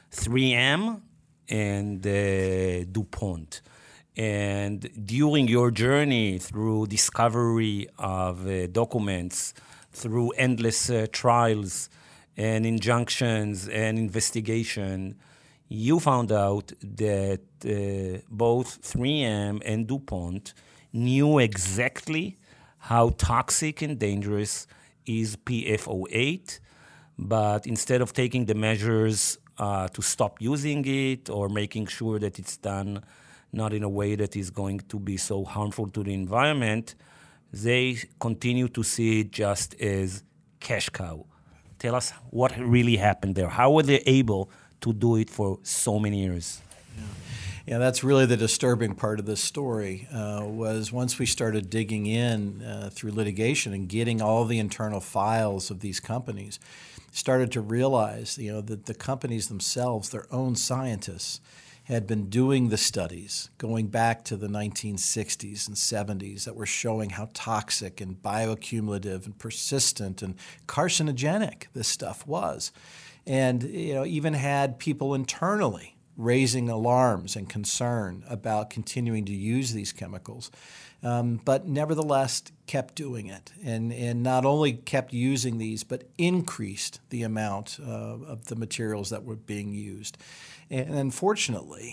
3M and DuPont. And during your journey through discovery of documents, through endless trials and injunctions and investigation, you found out that both 3M and DuPont knew exactly how toxic and dangerous is PFO8, but instead of taking the measures to stop using it or making sure that it's done not in a way that is going to be so harmful to the environment, they continue to see it just as cash cow. Tell us what really happened there. How were they able to do it for so many years? Yeah, that's really the disturbing part of this story, was once we started digging in through litigation and getting all the internal files of these companies, started to realize, that the companies themselves, their own scientists, had been doing the studies going back to the 1960s and 70s that were showing how toxic and bioaccumulative and persistent and carcinogenic this stuff was. And even had people internally raising alarms and concern about continuing to use these chemicals, but nevertheless kept doing it. And not only kept using these, but increased the amount of the materials that were being used. And unfortunately,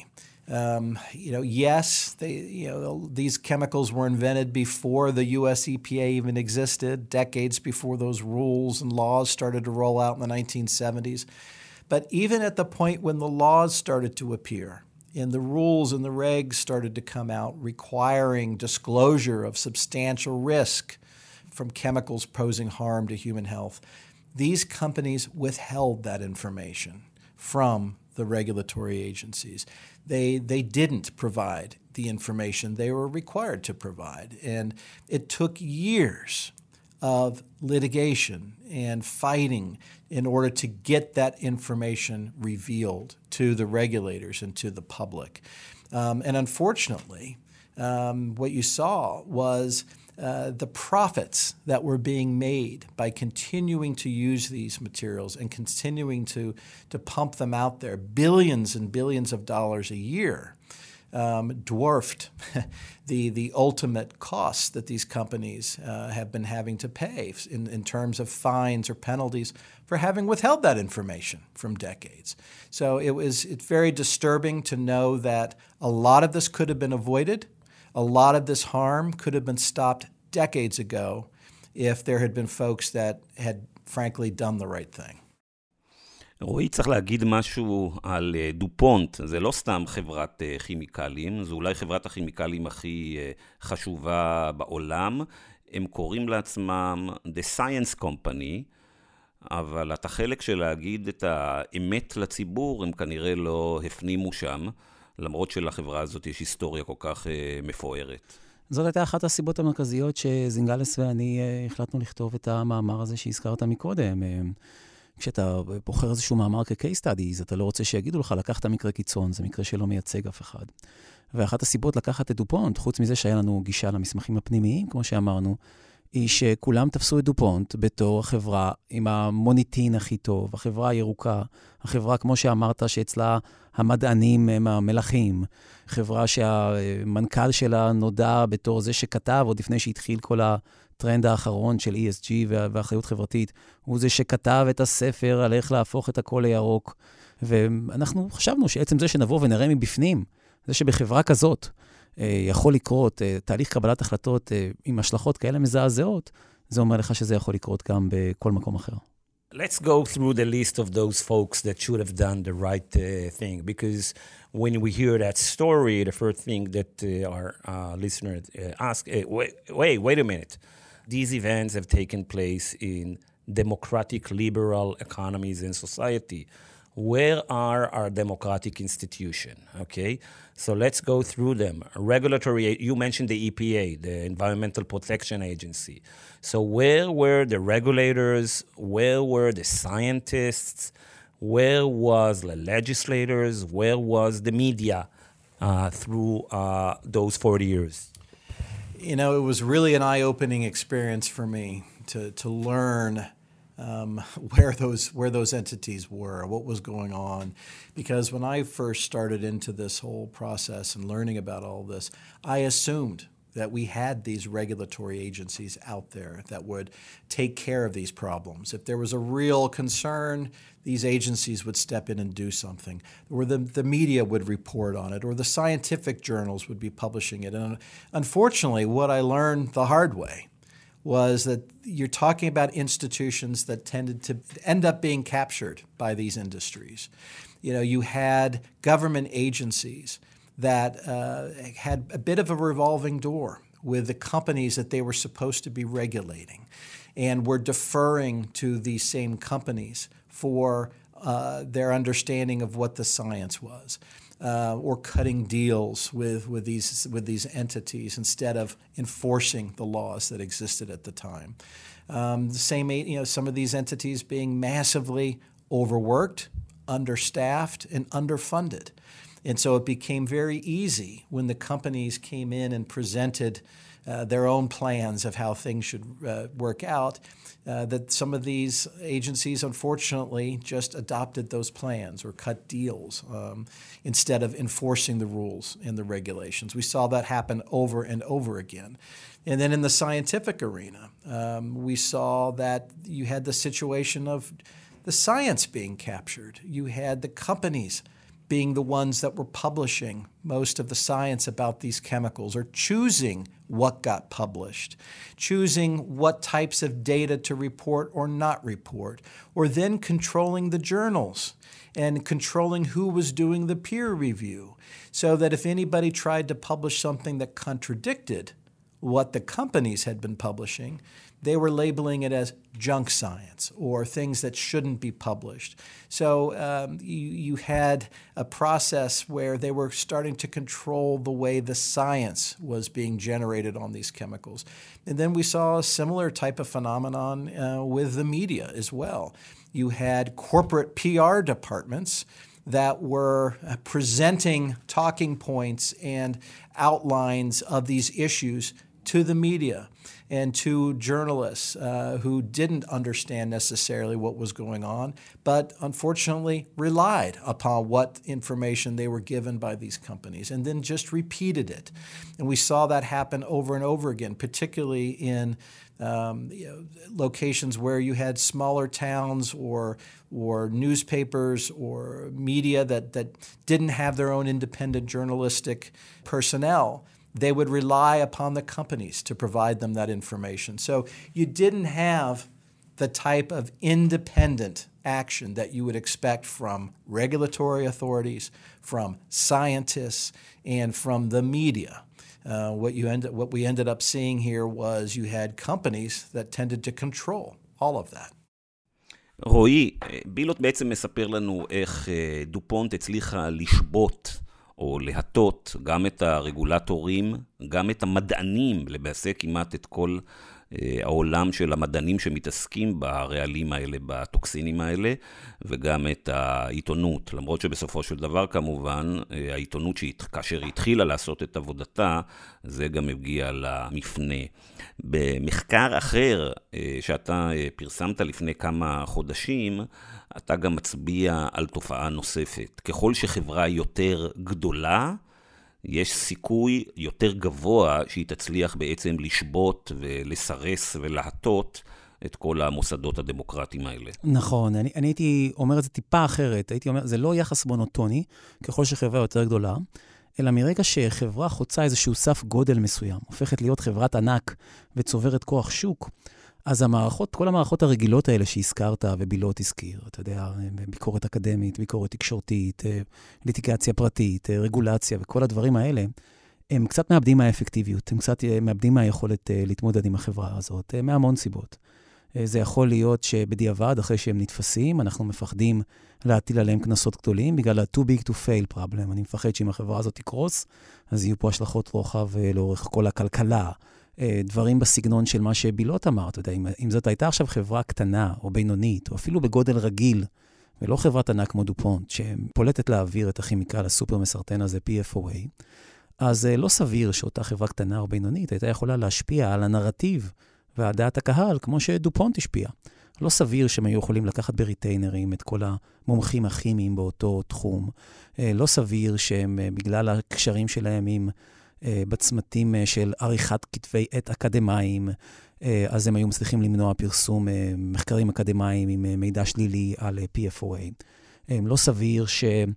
yes, these chemicals were invented before the U.S. EPA even existed, decades before those rules and laws started to roll out in the 1970s. But even at the point when the laws started to appear and the rules and the regs started to come out requiring disclosure of substantial risk from chemicals posing harm to human health, these companies withheld that information from the regulatory agencies. They didn't provide the information they were required to provide. And it took years of litigation and fighting in order to get that information revealed to the regulators and to the public. And unfortunately, what you saw was the profits that were being made by continuing to use these materials and continuing to pump them out there, billions and billions of dollars a year, dwarfed the ultimate costs that these companies have been having to pay in terms of fines or penalties for having withheld that information from decades. So it's very disturbing to know that a lot of this could have been avoided A lot of this harm could have been stopped decades ago if there had been folks that had frankly done the right thing. רועי, צריך להגיד משהו על דופונט. זה לא סתם חברת כימיקלים, זו אולי חברת הכימיקלים הכי חשובה בעולם. הם קוראים לעצמם The Science Company, אבל את החלק של להגיד את האמת לציבור, הם כנראה לא הפנימו שם, למרות שלחברה הזאת יש היסטוריה כל כך מפוארת. זאת הייתה אחת הסיבות המרכזיות שזינגלס ואני החלטנו לכתוב את המאמר הזה שהזכרת מקודם. כשאתה בוחר איזשהו מאמר כ-case studies, אתה לא רוצה שיגידו לך, לקחת מקרה קיצון, זה מקרה שלא מייצג אף אחד. ואחת הסיבות לקחת את דופונט, חוץ מזה שהיה לנו גישה למסמכים הפנימיים, כמו שאמרנו, היא שכולם תפסו את דופונט בתור החברה עם המוניטין הכי טוב, החברה הירוקה, החברה, כמו שאמרת, שאצלה המדענים הם המלכים, חברה שהמנכ"ל שלה נודע בתור זה שכתב, עוד לפני שהתחיל כל הטרנד האחרון של ESG ואחריות חברתית, הוא זה שכתב את הספר על איך להפוך את הכל לירוק. ואנחנו חשבנו שעצם זה שנבוא ונראה מבפנים, זה שבחברה כזאת יכול לקרות תהליך קבלת החלטות עם השלכות כאלה מזעזעות, זה אומר לך שזה יכול לקרות גם בכל מקום אחר. Let's go through the list of those folks that should have done the right thing, because when we hear that story, the first thing that our listeners ask, wait a minute. These events have taken place in democratic, liberal economies and society. Where are our democratic institutions? Okay, so let's go through them. Regulatory, you mentioned the EPA, the Environmental Protection Agency. So where were the regulators? Where were the scientists? Where was the legislators? Where was the media through those 40 years? You know, it was really an eye-opening experience for me to learn where those entities were, what was going on. Because when I first started into this whole process and learning about all this, I assumed that we had these regulatory agencies out there that would take care of these problems. If there was a real concern, these agencies would step in and do something, or the media would report on it, or the scientific journals would be publishing it. And unfortunately, what I learned the hard way was that you're talking about institutions that tended to end up being captured by these industries. You know, you had government agencies that had a bit of a revolving door with the companies that they were supposed to be regulating, and were deferring to these same companies for their understanding of what the science was. Or cutting deals with these entities instead of enforcing the laws that existed at the time. The same, you know, some of these entities being massively overworked, understaffed, and underfunded. And so it became very easy when the companies came in and presented their own plans of how things should work out, that some of these agencies, unfortunately, just adopted those plans or cut deals instead of enforcing the rules and the regulations. We saw that happen over and over again. And then in the scientific arena, we saw that you had the situation of the science being captured. You had the companies being the ones that were publishing most of the science about these chemicals, or choosing what got published, choosing what types of data to report or not report, or then controlling the journals and controlling who was doing the peer review, so that if anybody tried to publish something that contradicted what the companies had been publishing, they were labeling it as junk science or things that shouldn't be published. So you had a process where they were starting to control the way the science was being generated on these chemicals. And then we saw a similar type of phenomenon with the media as well. You had corporate PR departments that were presenting talking points and outlines of these issues to the media and to journalists who didn't understand necessarily what was going on, but unfortunately relied upon what information they were given by these companies and then just repeated it. And we saw that happen over and over again, particularly in locations where you had smaller towns or newspapers or media that didn't have their own independent journalistic personnel, they would rely upon the companies to provide them that information. So you didn't have the type of independent action that you would expect from regulatory authorities, from scientists, and from the media. What we ended up seeing here was you had companies that tended to control all of that. רועי, בילוט בעצם מספר לנו איך דופונט הצליחה לשבות או להטות גם את הרגולטורים, גם את המדענים, למעשה כמעט את כל העולם של המדענים שמתעסקים ברעלים האלה, בטוקסינים האלה, וגם את העיתונות. למרות שבסופו של דבר כמובן, העיתונות כאשר היא התחילה לעשות את עבודתה, זה גם הגיע למפנה. במחקר אחר שאתה פרסמת לפני כמה חודשים, אתה גם מצביע על תופעה נוספת. ככל שחברה יותר גדולה, יש סיכוי יותר גבוה שהיא תצליח בעצם לשבות ולסרס ולהטות את כל המוסדות הדמוקרטיים האלה. נכון, אני הייתי אומר את זה טיפה אחרת. הייתי אומר, זה לא יחס מונוטוני, ככל שחברה יותר גדולה, אלא מרגע שחברה חוצה איזשהו סף גודל מסוים, הופכת להיות חברת ענק וצוברת כוח שוק, אז כל המערכות הרגילות האלה שהזכרת ובילוט הזכיר, אתה יודע, ביקורת אקדמית, ביקורת תקשורתית, ליטיגציה פרטית, רגולציה וכל הדברים האלה, הם קצת מאבדים מהאפקטיביות, הם קצת מאבדים מהיכולת להתמודד עם החברה הזאת, מהמון סיבות. זה יכול להיות שבדיעבד, אחרי שהם נתפסים, אנחנו מפחדים להטיל עליהם כנסות גדולים, בגלל ה-too big to fail problem. אני מפחד שאם החברה הזאת תקרוס, אז יהיו פה השלכות רוחב לאורך כל הכלכלה, דברים בסגנון של מה שבילוט אמר, אתה יודע, אם זאת הייתה עכשיו חברה קטנה או בינונית, או אפילו בגודל רגיל, ולא חברת ענק כמו דופונט, שפולטת להעביר את הכימיקל הסופר מסרטן הזה, PFOA, אז לא סביר שאותה חברה קטנה או בינונית הייתה יכולה להשפיע על הנרטיב והדעת הקהל, כמו שדופונט השפיע. לא סביר שהם היו יכולים לקחת בריטיינרים את כל המומחים הכימיים באותו תחום. לא סביר שהם, בגלל הקשרים שלהם עם בצמתים של עריכת כתבי עת אקדמיים, אז הם היו מצליחים למנוע פרסום מחקרים אקדמיים עם מידע שלילי על PFOA. לא סביר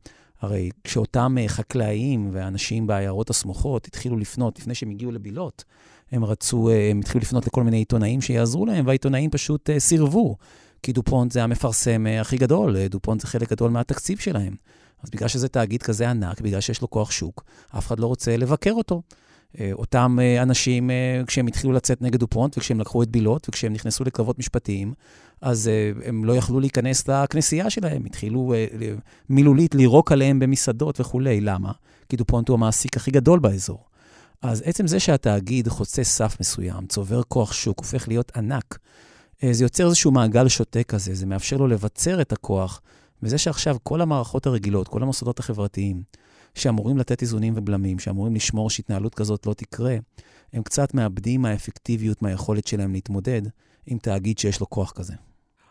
הרי כשאותם חקלאים ואנשים בעיירות הסמוכות התחילו לפנות, לפני שהם הגיעו לבילוט, הם התחילו לפנות לכל מיני עיתונאים שיעזרו להם, והעיתונאים פשוט סירבו, כי דופונט זה המפרסם הכי גדול, דופונט זה חלק גדול מהתקציב שלהם. אז בגלל שזה תאגיד כזה ענק, בגלל שיש לו כוח שוק, אף אחד לא רוצה לבקר אותו. אותם אנשים, כשהם התחילו לצאת נגד דופונט, וכשהם לקחו את בילוט, וכשהם נכנסו לקרבות משפטיים, אז הם לא יכלו להיכנס לכנסייה שלהם, התחילו מילולית לירוק עליהם במסעדות וכו'. למה? כי דופונט הוא המעסיק הכי גדול באזור. אז עצם זה שהתאגיד חוצה סף מסוים, צובר כוח שוק, הופך להיות ענק, זה יוצר איזשהו מעגל שוטה כזה, זה מאפשר לו לבצר את הכוח, וזה שעכשיו כל המערכות הרגילות, כל המוסדות החברתיים, שאמורים לתת איזונים ובלמים, שאמורים לשמור שהתנהלות כזאת לא תקרה, הם קצת מאבדים מהאפקטיביות, מהיכולת שלהם להתמודד עם תאגיד שיש לו כוח כזה.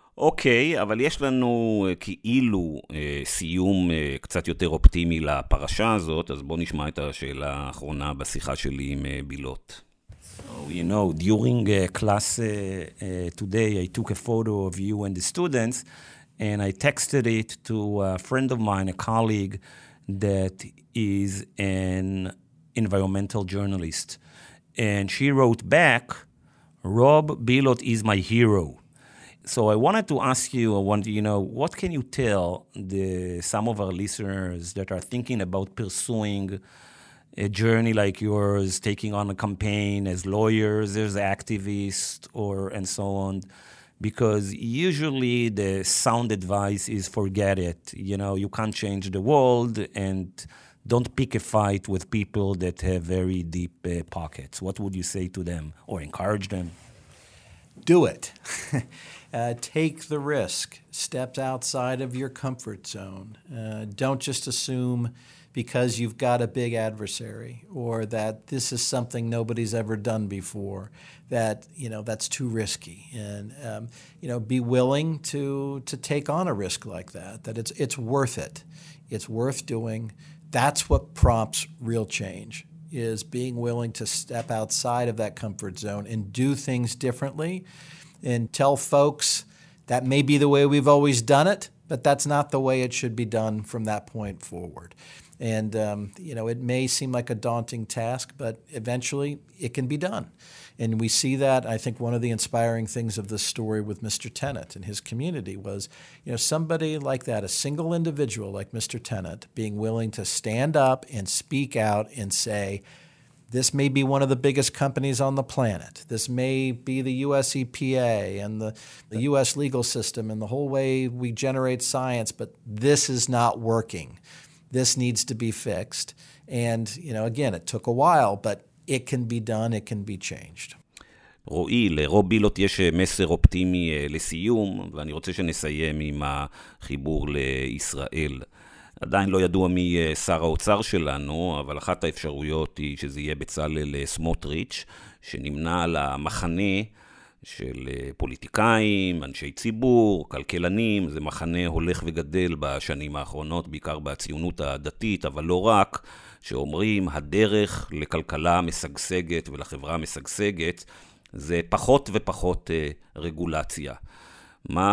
אוקיי, אבל יש לנו כאילו סיום קצת יותר אופטימי לפרשה הזאת, אז בוא נשמע את השאלה האחרונה בשיחה שלי עם בילוט. So, you know, during class today, I took a photo of you and the students, and I texted it to a friend of mine, a colleague that is an environmental journalist. And she wrote back, Rob Bilot is my hero. So I wanted to ask you, what can you tell some of our listeners that are thinking about pursuing a journey like yours, taking on a campaign as lawyers, as activists, and so on? Because usually the sound advice is forget it. You can't change the world, and don't pick a fight with people that have very deep pockets. What would you say to them or encourage them? Do it. Take the risk. Step outside of your comfort zone. Don't just assume because you've got a big adversary or that this is something nobody's ever done before, that, that's too risky. And, be willing to take on a risk like that it's worth it. It's worth doing. That's what prompts real change, is being willing to step outside of that comfort zone and do things differently and tell folks that may be the way we've always done it, but that's not the way it should be done from that point forward. And, it may seem like a daunting task, but eventually it can be done. And we see that. I think one of the inspiring things of this story with Mr. Tennant and his community was, somebody like that, a single individual like Mr. Tennant, being willing to stand up and speak out and say, this may be one of the biggest companies on the planet. This may be the U.S. EPA and the U.S. legal system and the whole way we generate science, but this is not working. This needs to be fixed. And, again, it took a while, but it can be done, it can be changed. רועי, לרוב בילוט יש מסר אופטימי לסיום, ואני רוצה שנסיים עם החיבור לישראל. עדיין לא ידוע מי שר האוצר שלנו, אבל אחת האפשרויות היא שזה יהיה בצלאל סמוטריץ', שנמנה על המחנה של פוליטיקאים, אנשי ציבור, כלכלנים. זה מחנה הולך וגדל בשנים האחרונות, בעיקר בציונות הדתית, אבל לא רק, שאומרים הדרך לכלכלה משגשגת ולחברה משגשגת, זה פחות ופחות רגולציה. מה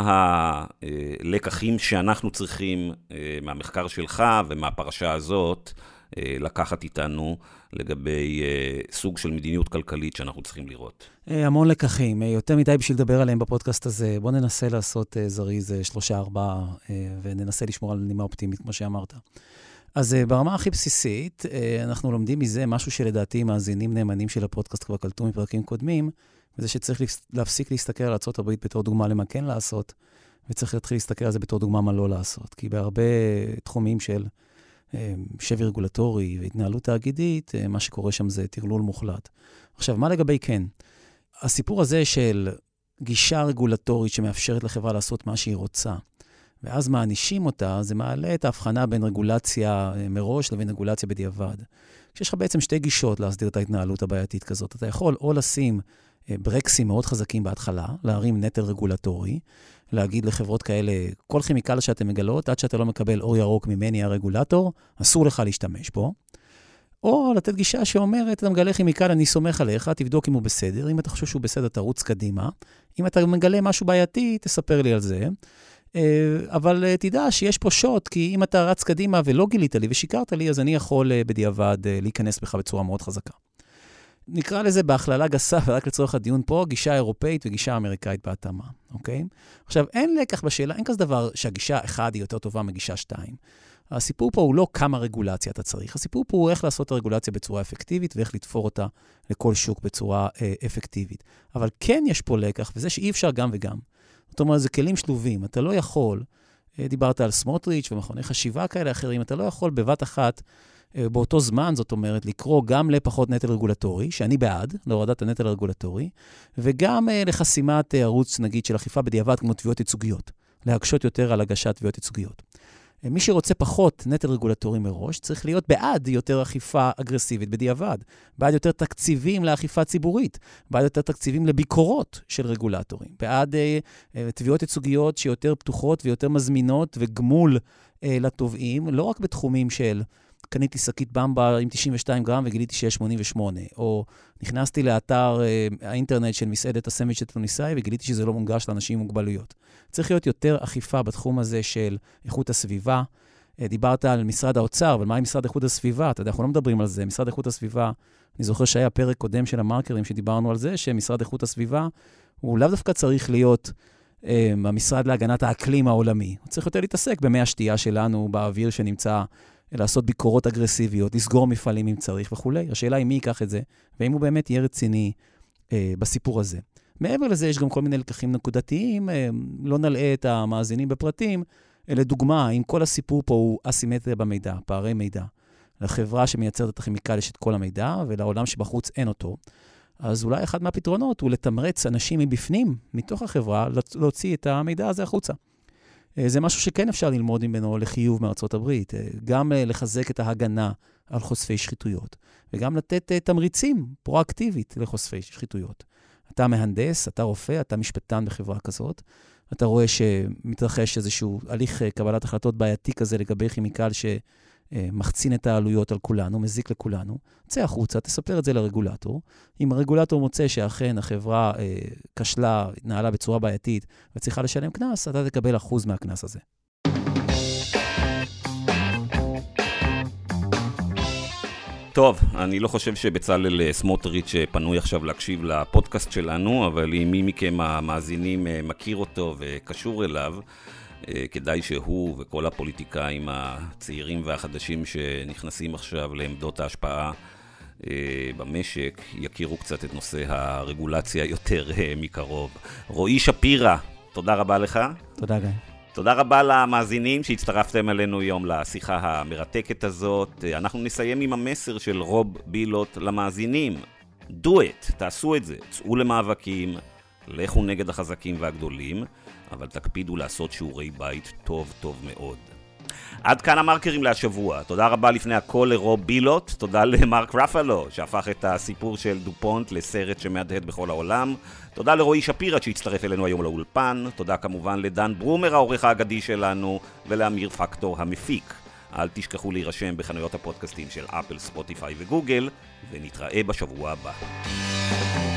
הלקחים שאנחנו צריכים מהמחקר שלך ומהפרשה הזאת לקחת איתנו לגבי סוג של מדיניות כלכלית שאנחנו צריכים לראות? המון לקחים, יותר מדי בשביל לדבר עליהם בפודקאסט הזה. בוא ננסה לעשות זריז 3-4 וננסה לשמור על נימה אופטימית, כמו שאמרת. אז ברמה הכי בסיסית, אנחנו לומדים מזה משהו שלדעתי מאזינים נאמנים של הפודקאסט כבר קלטו מפרקים קודמים, וזה שצריך להפסיק להסתכל על ארצות הברית בתור דוגמה למה כן לעשות, וצריך להתחיל להסתכל על זה בתור דוגמה מה לא לעשות. כי בהרבה תחומים של שבי רגולטורי והתנהלות תאגידית, מה שקורה שם זה תרלול מוחלט. עכשיו, מה לגבי כן? הסיפור הזה של גישה רגולטורית שמאפשרת לחברה לעשות מה שהיא רוצה, ואז מענישים אותה, זה מעלה את ההבחנה בין רגולציה מראש לבין רגולציה בדיעבד. כשיש לך בעצם שתי גישות להסדיר את ההתנהלות הבעייתית כזאת. אתה יכול או לשים ברקסים מאוד חזקים בהתחלה, להרים נטל רגולטורי, להגיד לחברות כאלה, כל כימיקל שאתם מגלות, עד שאתה לא מקבל אור ירוק ממני הרגולטור, אסור לך להשתמש בו. או לתת גישה שאומרת, אתה מגלה כימיקל, אני סומך עליך, תבדוק אם הוא בסדר. אם אתה חושב שהוא בסדר, תרוץ קדימה. אם אתה מגלה משהו בעייתי, תספר לי על זה. אבל תדע שיש פה שוט, כי אם אתה רץ קדימה ולא גילית לי ושיקרת לי, אז אני יכול בדיעבד להיכנס בך בצורה מאוד חזקה. נקרא לזה בהכללה גסה, ורק לצורך הדיון פה, גישה אירופאית וגישה אמריקאית בהתאמה, אוקיי? עכשיו, אין לקח בשאלה, אין כזה דבר שהגישה 1 היא יותר טובה מגישה 2. הסיפור פה הוא לא כמה רגולציה אתה צריך, הסיפור פה הוא איך לעשות את הרגולציה בצורה אפקטיבית, ואיך לתפור אותה לכל שוק בצורה אפקטיבית. אבל כן יש פה לקח, וזה שאי אפשר גם וגם. זאת אומרת, זה כלים שלובים, אתה לא יכול, דיברת על סמוטריץ' ומכוני חשיבה כאלה אחרים, אתה לא יכול בבת אחת, באותו זמן, זאת אומרת, לקרוא גם לפחות נטל רגולטורי, שאני בעד, להורדת הנטל הרגולטורי, וגם לחסימת ערוץ, נגיד, של אכיפה בדיעבד, כמו תביעות ייצוגיות, להקשות יותר על הגשת תביעות ייצוגיות. מי שרוצה פחות נטל רגולטורי מראש, צריך להיות בעד יותר אכיפה אגרסיבית בדיעבד, בעד יותר תקציבים לאכיפה ציבורית, בעד יותר תקציבים לביקורות של רגולטורים, בעד תביעות ייצוגיות שיותר פתוחות ויותר מזמינות וגמול לתובעים, לא רק בתחומים של קניתי שקית במבה עם 92 גרם וגיליתי שיש 88, או נכנסתי לאתר האינטרנט של מסעדת הסנדוויץ' התוניסאי וגיליתי שזה לא מונגש לאנשים עם מוגבלויות. צריך להיות יותר אכיפה בתחום הזה של איכות הסביבה. דיברת על משרד האוצר, אבל מה עם משרד איכות הסביבה? אתה יודע, אנחנו לא מדברים על זה. משרד איכות הסביבה, אני זוכר שהיה פרק קודם של המרקרים שדיברנו על זה, שמשרד איכות הסביבה הוא לאו דווקא צריך להיות המשרד להגנת האקלים העולמי. הוא צריך יותר להתעסק במי השתייה שלנו, באוויר שנמצא, לעשות ביקורות אגרסיביות, לסגור מפעלים אם צריך וכו'. השאלה היא מי ייקח את זה, ואם הוא באמת יהיה רציני בסיפור הזה. מעבר לזה, יש גם כל מיני לקחים נקודתיים, לא נלאה את המאזינים בפרטים, לדוגמה, אם כל הסיפור פה הוא אסימטריה במידע, פערי מידע, לחברה שמייצרת את הכימיקל יש את כל המידע, ולעולם שבחוץ אין אותו, אז אולי אחד מהפתרונות הוא לתמרץ אנשים מבפנים, מתוך החברה, להוציא את המידע הזה החוצה. זה משהו שכן אפשר ללמוד ממנו לחיוב מארצות הברית, גם לחזק את ההגנה על חושפי שחיתויות, וגם לתת תמריצים פרואקטיבית לחושפי שחיתויות. אתה מהנדס, אתה רופא, אתה משפטן בחברה כזאת, אתה רואה שמתרחש איזשהו הליך קבלת החלטות בעייתי כזה לגבי כימיקל שמחצין את העלויות על כולנו, מזיק לכולנו, צא החוצה, תספר את זה לרגולטור. אם הרגולטור מוצא שאכן החברה כשלה, התנהלה בצורה בעייתית וצריכה לשלם קנס, אתה תקבל 1% מהקנס הזה. טוב, אני לא חושב שבצלאל סמוטריץ' פנוי עכשיו להקשיב לפודקאסט שלנו, אבל אם מי מכם המאזינים מכיר אותו וקשור אליו, כדאי שהוא וכל הפוליטיקאים הצעירים והחדשים שנכנסים עכשיו לעמדות ההשפעה במשק, יכירו קצת את נושא הרגולציה יותר מקרוב. רועי שפירא, תודה רבה לך. תודה גיא. תודה רבה למאזינים שהצטרפתם אלינו היום לשיחה המרתקת הזאת. אנחנו נסיים עם המסר של רוב בילוט למאזינים. Do it, תעשו את זה, צאו למאבקים, לכו נגד החזקים והגדולים, אבל תקפידו לעשות שיעורי בית טוב טוב מאוד. עד כאן המרקרים להשבוע. תודה רבה לפני הכל לרוב בילוט, תודה למרק רפלו שהפך את הסיפור של דופונט לסרט שמהדהד בכל העולם, תודה לרועי שפירא שהצטרף אלינו היום לאולפן, תודה כמובן לדן ברומר העורך האגדי שלנו ולאמיר פקטור המפיק. אל תשכחו להירשם בחנויות הפודקאסטים של אפל, ספוטיפיי וגוגל, ונתראה בשבוע הבא.